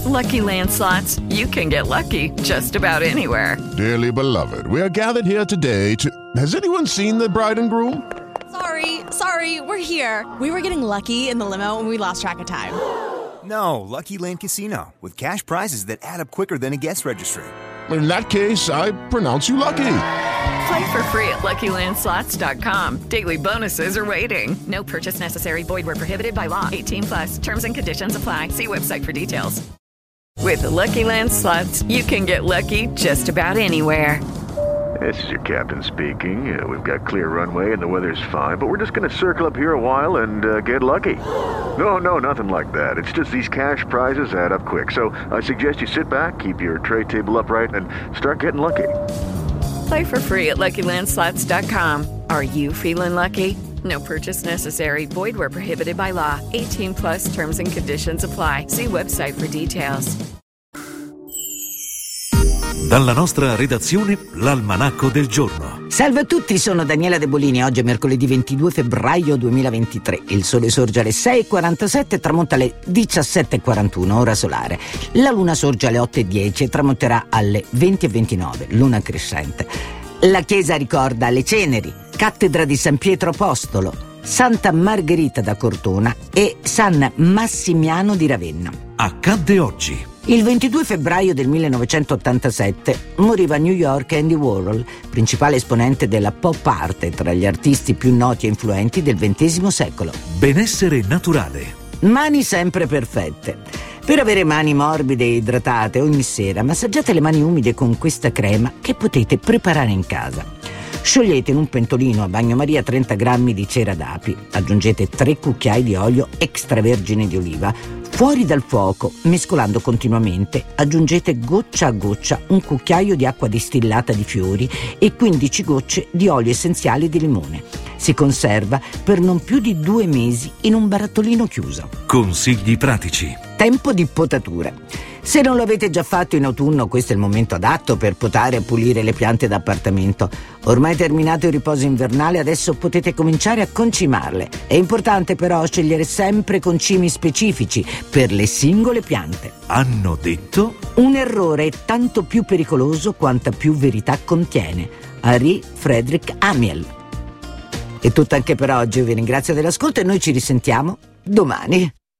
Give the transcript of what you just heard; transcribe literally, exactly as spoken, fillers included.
Lucky Land Slots, you can get lucky just about anywhere. Dearly beloved, we are gathered here today to... Has anyone seen the bride and groom? Sorry, sorry, we're here. We were getting lucky in the limo and we lost track of time. No, Lucky Land Casino, with cash prizes that add up quicker than a guest registry. In that case, I pronounce you lucky. Play for free at Lucky Land Slots dot com. Daily bonuses are waiting. No purchase necessary. Void where prohibited by law. eighteen plus. Terms and conditions apply. See website for details. With the Lucky Land Slots, you can get lucky just about anywhere. This is your captain speaking. Uh, we've got clear runway and the weather's fine, but we're just going to circle up here a while and uh, get lucky. No, no, nothing like that. It's just these cash prizes add up quick. So I suggest you sit back, keep your tray table upright, and start getting lucky. Play for free at Lucky Land Slots dot com. Are you feeling lucky? No purchase necessary. Void where prohibited by law. eighteen plus terms and conditions apply. See website for details. Dalla nostra redazione, l'Almanacco del Giorno. Salve a tutti, sono Daniela De Bolini. Oggi è mercoledì ventidue febbraio duemilaventitré. Il sole sorge alle sei e quarantasette e tramonta alle diciassette e quarantuno, ora solare. La luna sorge alle otto e dieci e tramonterà alle venti e ventinove, luna crescente. La chiesa ricorda le ceneri, cattedra di San Pietro Apostolo, Santa Margherita da Cortona e San Massimiano di Ravenna. Accadde oggi. Il ventidue febbraio del millenovecentottantasette moriva a New York Andy Warhol, principale esponente della pop art tra gli artisti più noti e influenti del ventesimo secolo. Benessere naturale. Mani sempre perfette. Per avere mani morbide e idratate ogni sera, massaggiate le mani umide con questa crema che potete preparare in casa. Sciogliete in un pentolino a bagnomaria trenta grammi di cera d'api, aggiungete tre cucchiai di olio extravergine di oliva, fuori dal fuoco, mescolando continuamente, aggiungete goccia a goccia un cucchiaio di acqua distillata di fiori e quindici gocce di olio essenziale di limone. Si conserva per non più di due mesi in un barattolino chiuso. Consigli pratici. Tempo di potatura. Se non lo avete già fatto in autunno, questo è il momento adatto per potare e pulire le piante d'appartamento. Ormai terminato il riposo invernale, adesso potete cominciare a concimarle. È importante però scegliere sempre concimi specifici per le singole piante. Hanno detto? Un errore è tanto più pericoloso quanta più verità contiene. Henri Frédéric Amiel. È tutto anche per oggi, vi ringrazio dell'ascolto e noi ci risentiamo domani.